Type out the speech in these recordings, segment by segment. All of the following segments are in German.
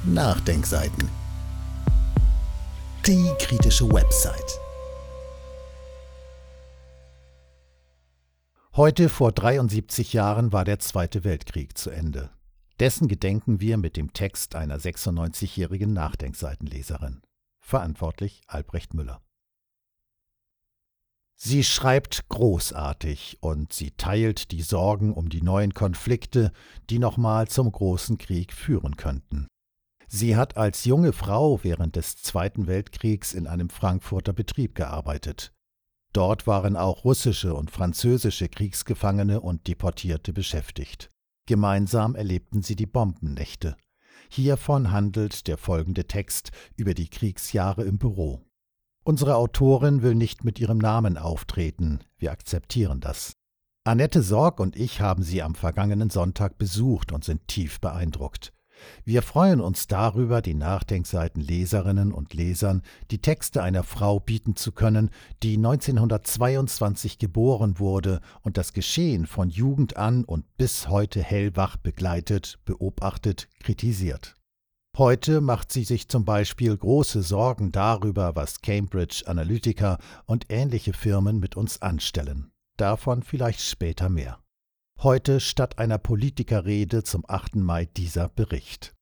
Nachdenkseiten. Die kritische Website. Heute vor 73 Jahren war der Zweite Weltkrieg zu Ende. Dessen gedenken wir mit dem Text einer 96-jährigen Nachdenkseitenleserin. Verantwortlich Albrecht Müller. Sie schreibt großartig und sie teilt die Sorgen um die neuen Konflikte, die nochmal zum großen Krieg führen könnten. Sie hat als junge Frau während des Zweiten Weltkriegs in einem Frankfurter Betrieb gearbeitet. Dort waren auch russische und französische Kriegsgefangene und Deportierte beschäftigt. Gemeinsam erlebten sie die Bombennächte. Hiervon handelt der folgende Text über die Kriegsjahre im Büro. Unsere Autorin will nicht mit ihrem Namen auftreten, wir akzeptieren das. Annette Sorg und ich haben sie am vergangenen Sonntag besucht und sind tief beeindruckt. Wir freuen uns darüber, den Nachdenkseiten-Leserinnen und Lesern die Texte einer Frau bieten zu können, die 1922 geboren wurde und das Geschehen von Jugend an und bis heute hellwach begleitet, beobachtet, kritisiert. Heute macht sie sich zum Beispiel große Sorgen darüber, was Cambridge Analytica und ähnliche Firmen mit uns anstellen. Davon vielleicht später mehr. Heute statt einer Politikerrede zum 8. Mai dieser Bericht.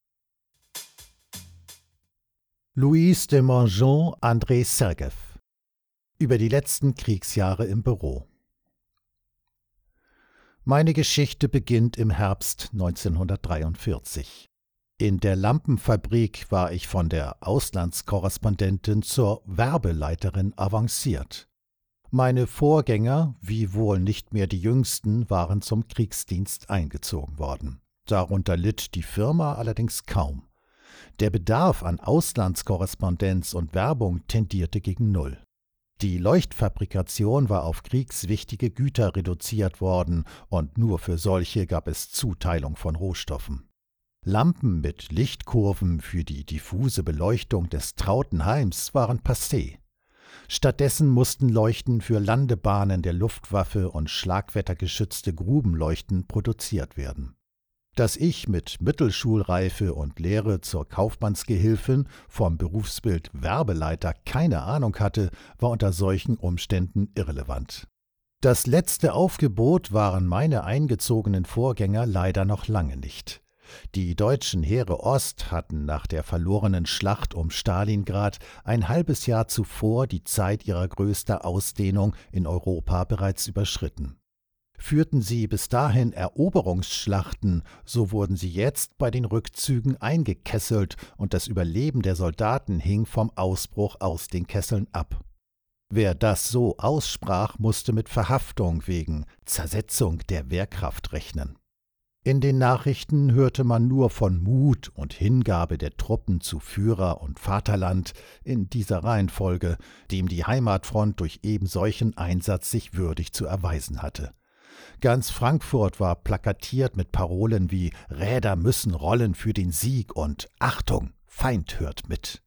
Louise de Mongeon, André Sergev. Über die letzten Kriegsjahre im Büro. Meine Geschichte beginnt im Herbst 1943. In der Lampenfabrik war ich von der Auslandskorrespondentin zur Werbeleiterin avanciert. Meine Vorgänger, wiewohl nicht mehr die jüngsten, waren zum Kriegsdienst eingezogen worden. Darunter litt die Firma allerdings kaum. Der Bedarf an Auslandskorrespondenz und Werbung tendierte gegen Null. Die Leuchtfabrikation war auf kriegswichtige Güter reduziert worden und nur für solche gab es Zuteilung von Rohstoffen. Lampen mit Lichtkurven für die diffuse Beleuchtung des trauten Heims waren passé. Stattdessen mussten Leuchten für Landebahnen der Luftwaffe und schlagwettergeschützte Grubenleuchten produziert werden. Dass ich mit Mittelschulreife und Lehre zur Kaufmannsgehilfin vom Berufsbild Werbeleiter keine Ahnung hatte, war unter solchen Umständen irrelevant. Das letzte Aufgebot waren meine eingezogenen Vorgänger leider noch lange nicht. Die deutschen Heere Ost hatten nach der verlorenen Schlacht um Stalingrad ein halbes Jahr zuvor die Zeit ihrer größten Ausdehnung in Europa bereits überschritten. Führten sie bis dahin Eroberungsschlachten, so wurden sie jetzt bei den Rückzügen eingekesselt und das Überleben der Soldaten hing vom Ausbruch aus den Kesseln ab. Wer das so aussprach, musste mit Verhaftung wegen Zersetzung der Wehrkraft rechnen. In den Nachrichten hörte man nur von Mut und Hingabe der Truppen zu Führer und Vaterland in dieser Reihenfolge, dem die Heimatfront durch eben solchen Einsatz sich würdig zu erweisen hatte. Ganz Frankfurt war plakatiert mit Parolen wie »Räder müssen rollen für den Sieg« und »Achtung, Feind hört mit«.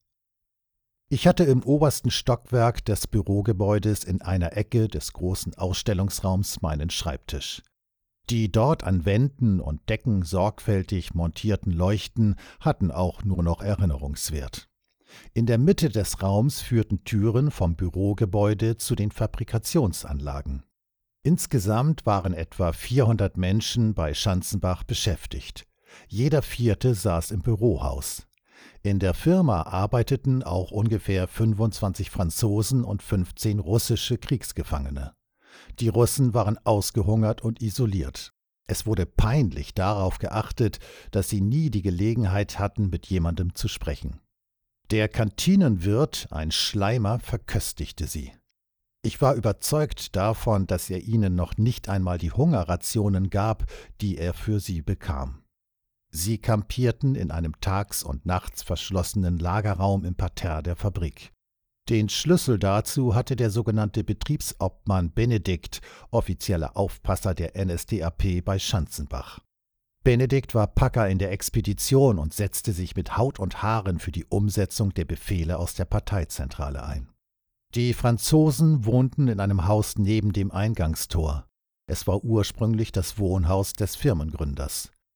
Ich hatte im obersten Stockwerk des Bürogebäudes in einer Ecke des großen Ausstellungsraums meinen Schreibtisch. Die dort an Wänden und Decken sorgfältig montierten Leuchten hatten auch nur noch Erinnerungswert. In der Mitte des Raums führten Türen vom Bürogebäude zu den Fabrikationsanlagen. Insgesamt waren etwa 400 Menschen bei Schanzenbach beschäftigt. Jeder vierte saß im Bürohaus. In der Firma arbeiteten auch ungefähr 25 Franzosen und 15 russische Kriegsgefangene. Die Russen waren ausgehungert und isoliert. Es wurde peinlich darauf geachtet, dass sie nie die Gelegenheit hatten, mit jemandem zu sprechen. Der Kantinenwirt, ein Schleimer, verköstigte sie. Ich war überzeugt davon, dass er ihnen noch nicht einmal die Hungerrationen gab, die er für sie bekam. Sie kampierten in einem tags- und nachts verschlossenen Lagerraum im Parterre der Fabrik. Den Schlüssel dazu hatte der sogenannte Betriebsobmann Benedikt, offizieller Aufpasser der NSDAP bei Schanzenbach. Benedikt war Packer in der Expedition und setzte sich mit Haut und Haaren für die Umsetzung der Befehle aus der Parteizentrale ein. Die Franzosen wohnten in einem Haus neben dem Eingangstor. Es war ursprünglich das Wohnhaus des Firmengründers.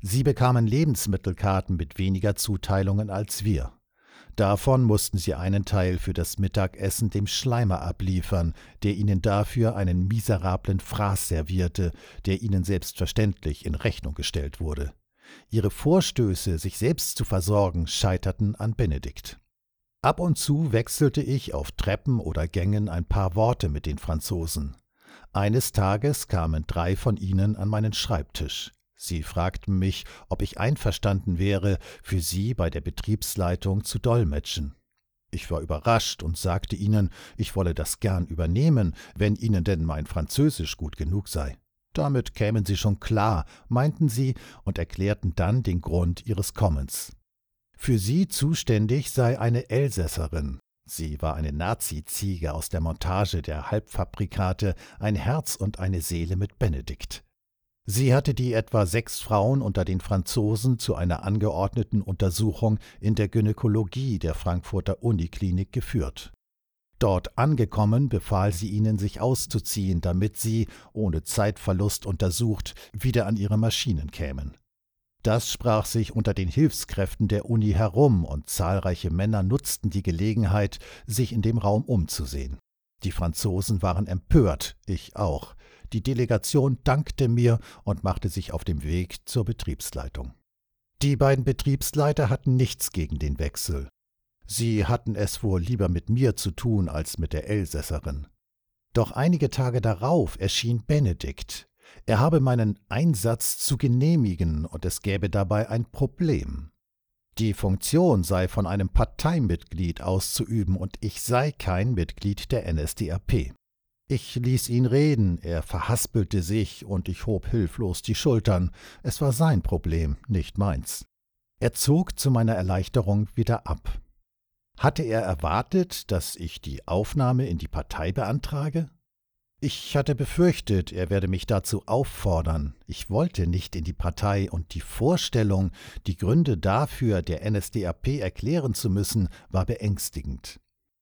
Sie bekamen Lebensmittelkarten mit weniger Zuteilungen als wir. Davon mussten sie einen Teil für das Mittagessen dem Schleimer abliefern, der ihnen dafür einen miserablen Fraß servierte, der ihnen selbstverständlich in Rechnung gestellt wurde. Ihre Vorstöße, sich selbst zu versorgen, scheiterten an Benedikt. Ab und zu wechselte ich auf Treppen oder Gängen ein paar Worte mit den Franzosen. Eines Tages kamen 3 von ihnen an meinen Schreibtisch. Sie fragten mich, ob ich einverstanden wäre, für sie bei der Betriebsleitung zu dolmetschen. Ich war überrascht und sagte ihnen, ich wolle das gern übernehmen, wenn ihnen denn mein Französisch gut genug sei. Damit kämen sie schon klar, meinten sie und erklärten dann den Grund ihres Kommens. Für sie zuständig sei eine Elsässerin. Sie war eine Nazi-Ziege aus der Montage der Halbfabrikate, ein Herz und eine Seele mit Benedikt. Sie hatte die etwa 6 Frauen unter den Franzosen zu einer angeordneten Untersuchung in der Gynäkologie der Frankfurter Uniklinik geführt. Dort angekommen, befahl sie ihnen, sich auszuziehen, damit sie, ohne Zeitverlust untersucht, wieder an ihre Maschinen kämen. Das sprach sich unter den Hilfskräften der Uni herum, und zahlreiche Männer nutzten die Gelegenheit, sich in dem Raum umzusehen. Die Franzosen waren empört, ich auch. Die Delegation dankte mir und machte sich auf dem Weg zur Betriebsleitung. Die beiden Betriebsleiter hatten nichts gegen den Wechsel. Sie hatten es wohl lieber mit mir zu tun als mit der Elsässerin. Doch einige Tage darauf erschien Benedikt. Er habe meinen Einsatz zu genehmigen und es gäbe dabei ein Problem. Die Funktion sei von einem Parteimitglied auszuüben und ich sei kein Mitglied der NSDAP. Ich ließ ihn reden, er verhaspelte sich und ich hob hilflos die Schultern. Es war sein Problem, nicht meins. Er zog zu meiner Erleichterung wieder ab. Hatte er erwartet, dass ich die Aufnahme in die Partei beantrage? Ich hatte befürchtet, er werde mich dazu auffordern. Ich wollte nicht in die Partei und die Vorstellung, die Gründe dafür der NSDAP erklären zu müssen, war beängstigend.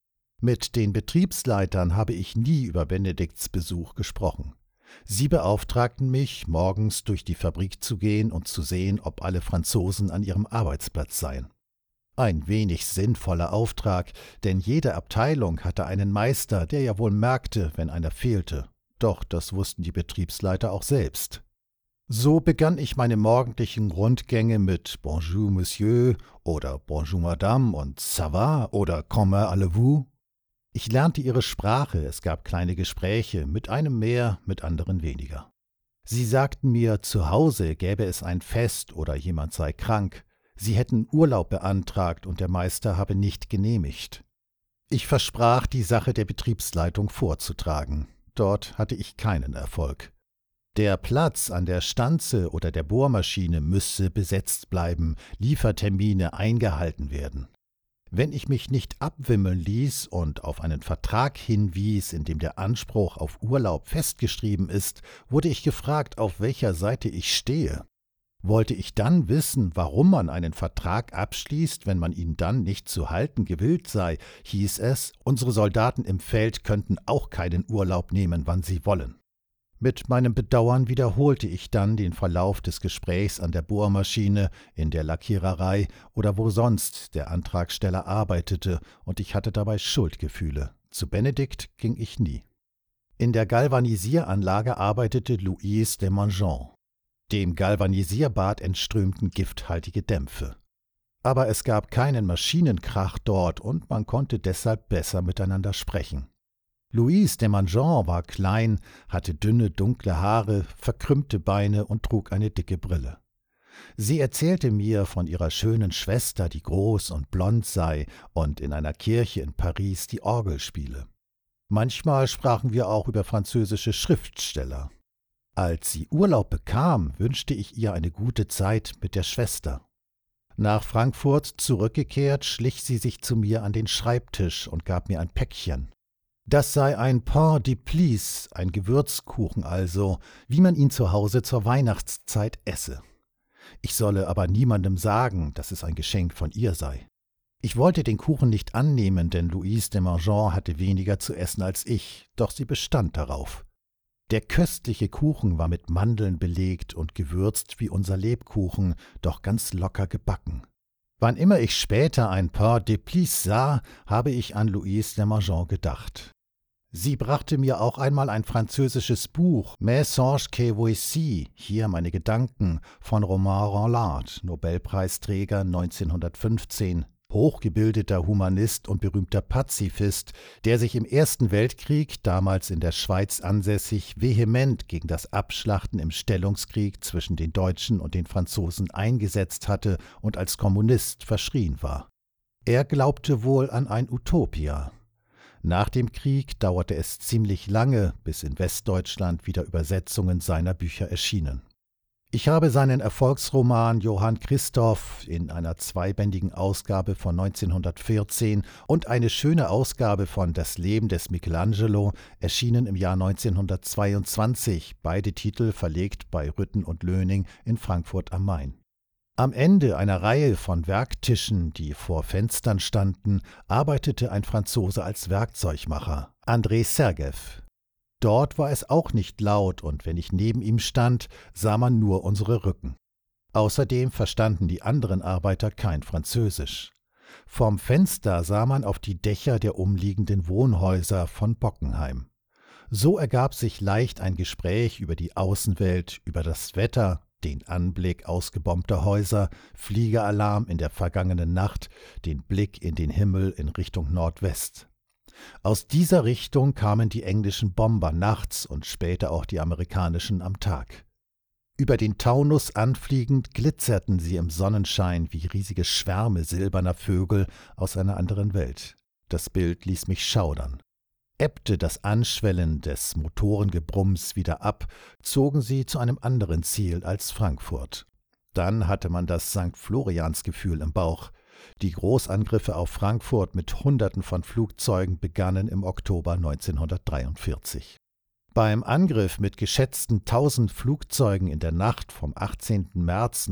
Mit den Betriebsleitern habe ich nie über Benedikts Besuch gesprochen. Sie beauftragten mich, morgens durch die Fabrik zu gehen und zu sehen, ob alle Franzosen an ihrem Arbeitsplatz seien. Ein wenig sinnvoller Auftrag, denn jede Abteilung hatte einen Meister, der ja wohl merkte, wenn einer fehlte. Doch das wussten die Betriebsleiter auch selbst. So begann ich meine morgendlichen Rundgänge mit Bonjour Monsieur oder Bonjour Madame und Ça va oder Comment allez-vous? Ich lernte ihre Sprache, es gab kleine Gespräche, mit einem mehr, mit anderen weniger. Sie sagten mir, zu Hause gäbe es ein Fest oder jemand sei krank. Sie hätten Urlaub beantragt und der Meister habe nicht genehmigt. Ich versprach, die Sache der Betriebsleitung vorzutragen. Dort hatte ich keinen Erfolg. Der Platz an der Stanze oder der Bohrmaschine müsse besetzt bleiben, Liefertermine eingehalten werden. Wenn ich mich nicht abwimmeln ließ und auf einen Vertrag hinwies, in dem der Anspruch auf Urlaub festgeschrieben ist, wurde ich gefragt, auf welcher Seite ich stehe. Wollte ich dann wissen, warum man einen Vertrag abschließt, wenn man ihn dann nicht zu halten gewillt sei, hieß es, unsere Soldaten im Feld könnten auch keinen Urlaub nehmen, wann sie wollen. Mit meinem Bedauern wiederholte ich dann den Verlauf des Gesprächs an der Bohrmaschine, in der Lackiererei oder wo sonst der Antragsteller arbeitete, und ich hatte dabei Schuldgefühle. Zu Benedikt ging ich nie. In der Galvanisieranlage arbeitete Louise Desmangeons. Dem Galvanisierbad entströmten gifthaltige Dämpfe. Aber es gab keinen Maschinenkrach dort und man konnte deshalb besser miteinander sprechen. Louise Desmangeons war klein, hatte dünne, dunkle Haare, verkrümmte Beine und trug eine dicke Brille. Sie erzählte mir von ihrer schönen Schwester, die groß und blond sei und in einer Kirche in Paris die Orgel spiele. Manchmal sprachen wir auch über französische Schriftsteller. Als sie Urlaub bekam, wünschte ich ihr eine gute Zeit mit der Schwester. Nach Frankfurt zurückgekehrt, schlich sie sich zu mir an den Schreibtisch und gab mir ein Päckchen. Das sei ein Pain d'épices, ein Gewürzkuchen also, wie man ihn zu Hause zur Weihnachtszeit esse. Ich solle aber niemandem sagen, dass es ein Geschenk von ihr sei. Ich wollte den Kuchen nicht annehmen, denn Louise Desmangeons hatte weniger zu essen als ich, doch sie bestand darauf. Der köstliche Kuchen war mit Mandeln belegt und gewürzt wie unser Lebkuchen, doch ganz locker gebacken. Wann immer ich später ein Pain d'épices sah, habe ich an Louise de Margeon gedacht. Sie brachte mir auch einmal ein französisches Buch, Mes songes que voici, hier meine Gedanken, von Romain Rolland, Nobelpreisträger 1915, hochgebildeter Humanist und berühmter Pazifist, der sich im Ersten Weltkrieg, damals in der Schweiz ansässig, vehement gegen das Abschlachten im Stellungskrieg zwischen den Deutschen und den Franzosen eingesetzt hatte und als Kommunist verschrien war. Er glaubte wohl an ein Utopia. Nach dem Krieg dauerte es ziemlich lange, bis in Westdeutschland wieder Übersetzungen seiner Bücher erschienen. Ich habe seinen Erfolgsroman Johann Christoph in einer zweibändigen Ausgabe von 1914 und eine schöne Ausgabe von Das Leben des Michelangelo, erschienen im Jahr 1922, beide Titel verlegt bei Rütten und Löning in Frankfurt am Main. Am Ende einer Reihe von Werktischen, die vor Fenstern standen, arbeitete ein Franzose als Werkzeugmacher, André Sergev. Dort war es auch nicht laut, und wenn ich neben ihm stand, sah man nur unsere Rücken. Außerdem verstanden die anderen Arbeiter kein Französisch. Vom Fenster sah man auf die Dächer der umliegenden Wohnhäuser von Bockenheim. So ergab sich leicht ein Gespräch über die Außenwelt, über das Wetter, den Anblick ausgebombter Häuser, Fliegeralarm in der vergangenen Nacht, den Blick in den Himmel in Richtung Nordwest. Aus dieser Richtung kamen die englischen Bomber nachts und später auch die amerikanischen am Tag. Über den Taunus anfliegend glitzerten sie im Sonnenschein wie riesige Schwärme silberner Vögel aus einer anderen Welt. Das Bild ließ mich schaudern. Ebbte das Anschwellen des Motorengebrumms wieder ab, zogen sie zu einem anderen Ziel als Frankfurt. Dann hatte man das St. Florians-Gefühl im Bauch. Die Großangriffe auf Frankfurt mit Hunderten von Flugzeugen begannen im Oktober 1943. Beim Angriff mit geschätzten 1000 Flugzeugen in der Nacht vom 18. März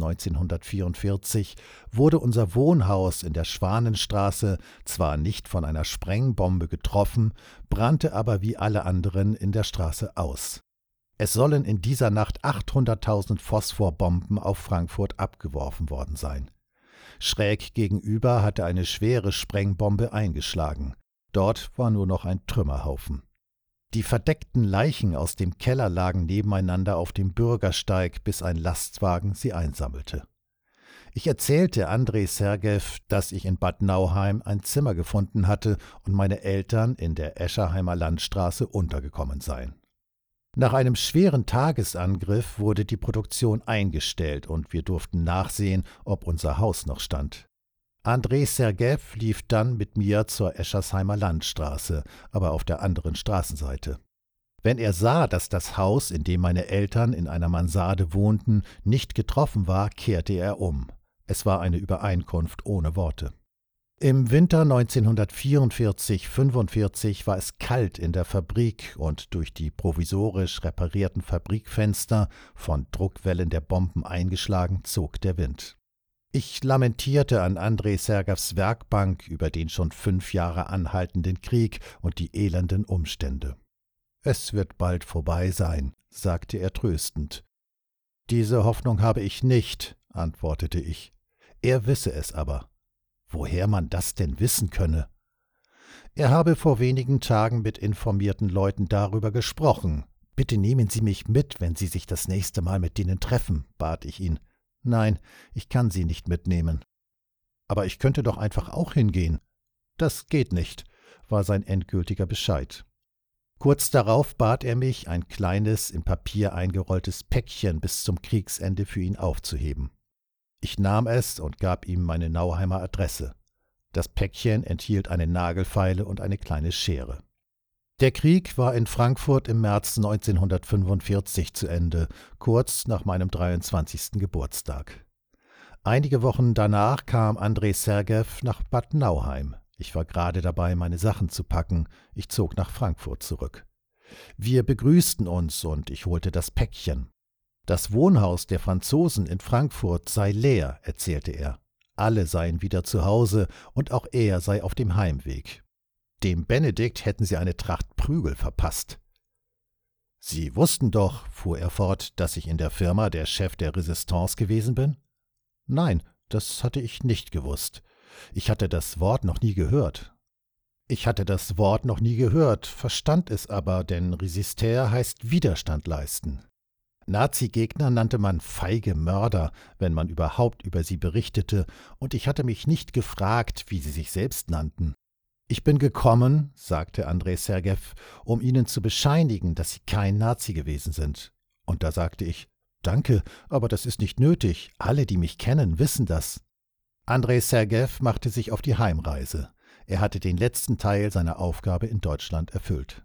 1944 wurde unser Wohnhaus in der Schwanenstraße zwar nicht von einer Sprengbombe getroffen, brannte aber wie alle anderen in der Straße aus. Es sollen in dieser Nacht 800.000 Phosphorbomben auf Frankfurt abgeworfen worden sein. Schräg gegenüber hatte eine schwere Sprengbombe eingeschlagen. Dort war nur noch ein Trümmerhaufen. Die verdeckten Leichen aus dem Keller lagen nebeneinander auf dem Bürgersteig, bis ein Lastwagen sie einsammelte. Ich erzählte André Sergev, dass ich in Bad Nauheim ein Zimmer gefunden hatte und meine Eltern in der Escherheimer Landstraße untergekommen seien. Nach einem schweren Tagesangriff wurde die Produktion eingestellt und wir durften nachsehen, ob unser Haus noch stand. André Sergev lief dann mit mir zur Eschersheimer Landstraße, aber auf der anderen Straßenseite. Wenn er sah, dass das Haus, in dem meine Eltern in einer Mansarde wohnten, nicht getroffen war, kehrte er um. Es war eine Übereinkunft ohne Worte. Im Winter 1944/45 war es kalt in der Fabrik und durch die provisorisch reparierten Fabrikfenster, von Druckwellen der Bomben eingeschlagen, zog der Wind. Ich lamentierte an André Sergevs Werkbank über den schon 5 Jahre anhaltenden Krieg und die elenden Umstände. »Es wird bald vorbei sein«, sagte er tröstend. »Diese Hoffnung habe ich nicht«, antwortete ich. Er wisse es aber. Woher man das denn wissen könne? Er habe vor wenigen Tagen mit informierten Leuten darüber gesprochen. »Bitte nehmen Sie mich mit, wenn Sie sich das nächste Mal mit denen treffen«, bat ich ihn. »Nein, ich kann Sie nicht mitnehmen.« »Aber ich könnte doch einfach auch hingehen.« »Das geht nicht«, war sein endgültiger Bescheid. Kurz darauf bat er mich, ein kleines, in Papier eingerolltes Päckchen bis zum Kriegsende für ihn aufzuheben. Ich nahm es und gab ihm meine Nauheimer Adresse. Das Päckchen enthielt eine Nagelfeile und eine kleine Schere. Der Krieg war in Frankfurt im März 1945 zu Ende, kurz nach meinem 23. Geburtstag. Einige Wochen danach kam André Sergev nach Bad Nauheim. Ich war gerade dabei, meine Sachen zu packen. Ich zog nach Frankfurt zurück. Wir begrüßten uns und ich holte das Päckchen. Das Wohnhaus der Franzosen in Frankfurt sei leer, erzählte er. Alle seien wieder zu Hause und auch er sei auf dem Heimweg. Dem Benedikt hätten sie eine Tracht Prügel verpasst. »Sie wussten doch«, fuhr er fort, »dass ich in der Firma der Chef der Resistance gewesen bin?« »Nein, das hatte ich nicht gewusst. Ich hatte das Wort noch nie gehört.« Ich hatte das Wort noch nie gehört, verstand es aber, denn Resister heißt Widerstand leisten. Nazi-Gegner nannte man feige Mörder, wenn man überhaupt über sie berichtete, und ich hatte mich nicht gefragt, wie sie sich selbst nannten. »Ich bin gekommen«, sagte Andrei Sergejew, »um Ihnen zu bescheinigen, dass Sie kein Nazi gewesen sind.« Und da sagte ich, »Danke, aber das ist nicht nötig. Alle, die mich kennen, wissen das.« Andrei Sergejew machte sich auf die Heimreise. Er hatte den letzten Teil seiner Aufgabe in Deutschland erfüllt.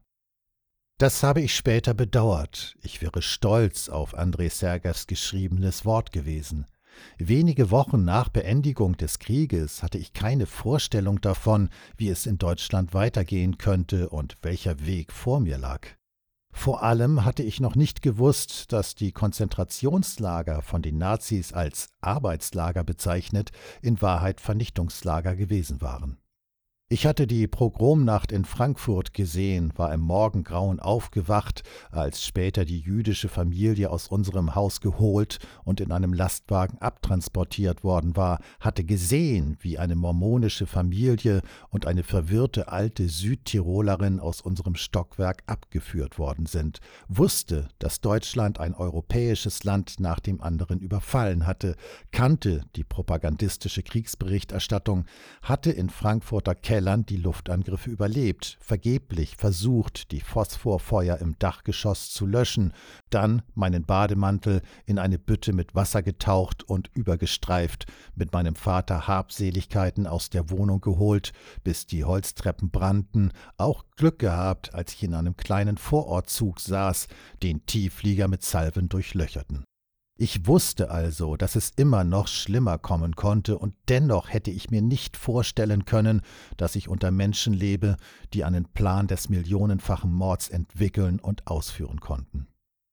Das habe ich später bedauert. Ich wäre stolz auf Andrei Sergejews geschriebenes Wort gewesen. Wenige Wochen nach Beendigung des Krieges hatte ich keine Vorstellung davon, wie es in Deutschland weitergehen könnte und welcher Weg vor mir lag. Vor allem hatte ich noch nicht gewusst, dass die Konzentrationslager, von den Nazis als Arbeitslager bezeichnet, in Wahrheit Vernichtungslager gewesen waren. Ich hatte die Pogromnacht in Frankfurt gesehen, war im Morgengrauen aufgewacht, als später die jüdische Familie aus unserem Haus geholt und in einem Lastwagen abtransportiert worden war, hatte gesehen, wie eine mormonische Familie und eine verwirrte alte Südtirolerin aus unserem Stockwerk abgeführt worden sind, wusste, dass Deutschland ein europäisches Land nach dem anderen überfallen hatte, kannte die propagandistische Kriegsberichterstattung, hatte in Frankfurter Kellern die Luftangriffe überlebt, vergeblich versucht, die Phosphorfeuer im Dachgeschoss zu löschen, dann meinen Bademantel in eine Bütte mit Wasser getaucht und übergestreift, mit meinem Vater Habseligkeiten aus der Wohnung geholt, bis die Holztreppen brannten, auch Glück gehabt, als ich in einem kleinen Vorortzug saß, den Tiefflieger mit Salven durchlöcherten. Ich wusste also, dass es immer noch schlimmer kommen konnte, und dennoch hätte ich mir nicht vorstellen können, dass ich unter Menschen lebe, die einen Plan des millionenfachen Mords entwickeln und ausführen konnten.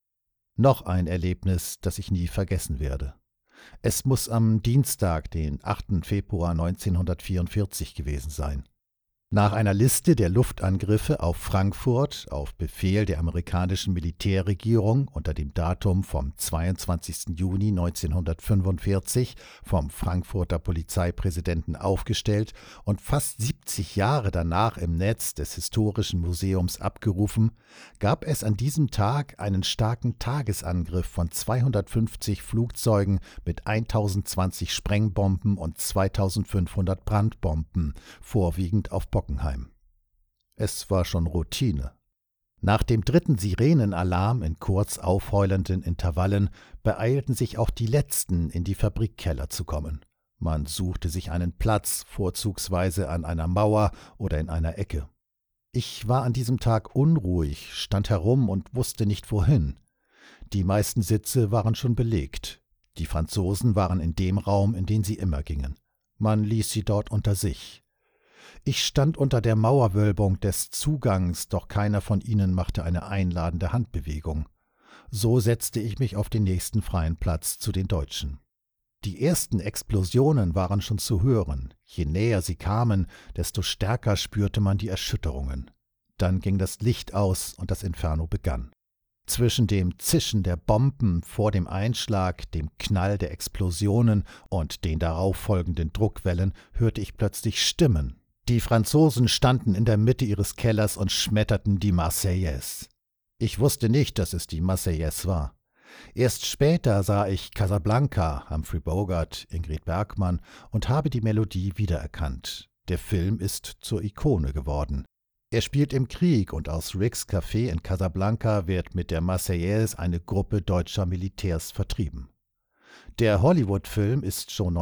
Noch ein Erlebnis, das ich nie vergessen werde. Es muss am Dienstag, den 8. Februar 1944 gewesen sein. Nach einer Liste der Luftangriffe auf Frankfurt auf Befehl der amerikanischen Militärregierung unter dem Datum vom 22. Juni 1945 vom Frankfurter Polizeipräsidenten aufgestellt und fast 70 Jahre danach im Netz des Historischen Museums abgerufen, gab es an diesem Tag einen starken Tagesangriff von 250 Flugzeugen mit 1020 Sprengbomben und 2500 Brandbomben, vorwiegend auf Bockenheim. Es war schon Routine. Nach dem 3. Sirenenalarm in kurz aufheulenden Intervallen beeilten sich auch die Letzten, in die Fabrikkeller zu kommen. Man suchte sich einen Platz, vorzugsweise an einer Mauer oder in einer Ecke. Ich war an diesem Tag unruhig, stand herum und wusste nicht wohin. Die meisten Sitze waren schon belegt. Die Franzosen waren in dem Raum, in den sie immer gingen. Man ließ sie dort unter sich. Ich stand unter der Mauerwölbung des Zugangs, doch keiner von ihnen machte eine einladende Handbewegung. So setzte ich mich auf den nächsten freien Platz zu den Deutschen. Die ersten Explosionen waren schon zu hören. Je näher sie kamen, desto stärker spürte man die Erschütterungen. Dann ging das Licht aus und das Inferno begann. Zwischen dem Zischen der Bomben vor dem Einschlag, dem Knall der Explosionen und den darauf folgenden Druckwellen hörte ich plötzlich Stimmen. Die Franzosen standen in der Mitte ihres Kellers und schmetterten die Marseillaise. Ich wusste nicht, dass es die Marseillaise war. Erst später sah ich Casablanca, Humphrey Bogart, Ingrid Bergman und habe die Melodie wiedererkannt. Der Film ist zur Ikone geworden. Er spielt im Krieg und aus Ricks Café in Casablanca wird mit der Marseillaise eine Gruppe deutscher Militärs vertrieben. Der Hollywood-Film ist schon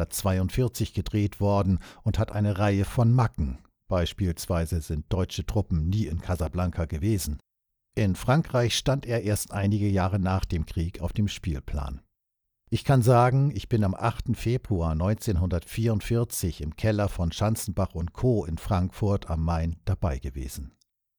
1942 gedreht worden und hat eine Reihe von Macken. Beispielsweise sind deutsche Truppen nie in Casablanca gewesen. In Frankreich stand er erst einige Jahre nach dem Krieg auf dem Spielplan. Ich kann sagen, ich bin am 8. Februar 1944 im Keller von Schanzenbach und Co. in Frankfurt am Main dabei gewesen.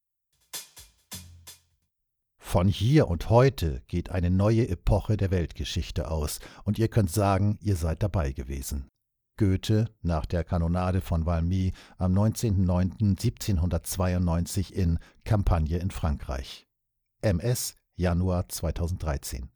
Von hier und heute geht eine neue Epoche der Weltgeschichte aus, und ihr könnt sagen, ihr seid dabei gewesen. Goethe nach der Kanonade von Valmy am 19.09.1792 in Campagne in Frankreich. MS Januar 2013.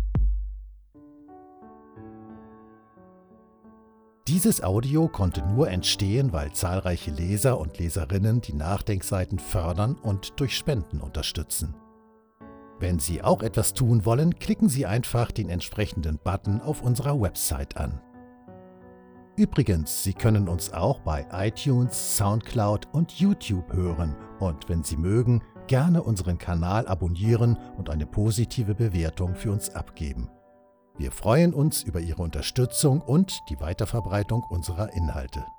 Dieses Audio konnte nur entstehen, weil zahlreiche Leser und Leserinnen die Nachdenkseiten fördern und durch Spenden unterstützen. Wenn Sie auch etwas tun wollen, klicken Sie einfach den entsprechenden Button auf unserer Website an. Übrigens, Sie können uns auch bei iTunes, SoundCloud und YouTube hören und wenn Sie mögen, gerne unseren Kanal abonnieren und eine positive Bewertung für uns abgeben. Wir freuen uns über Ihre Unterstützung und die Weiterverbreitung unserer Inhalte.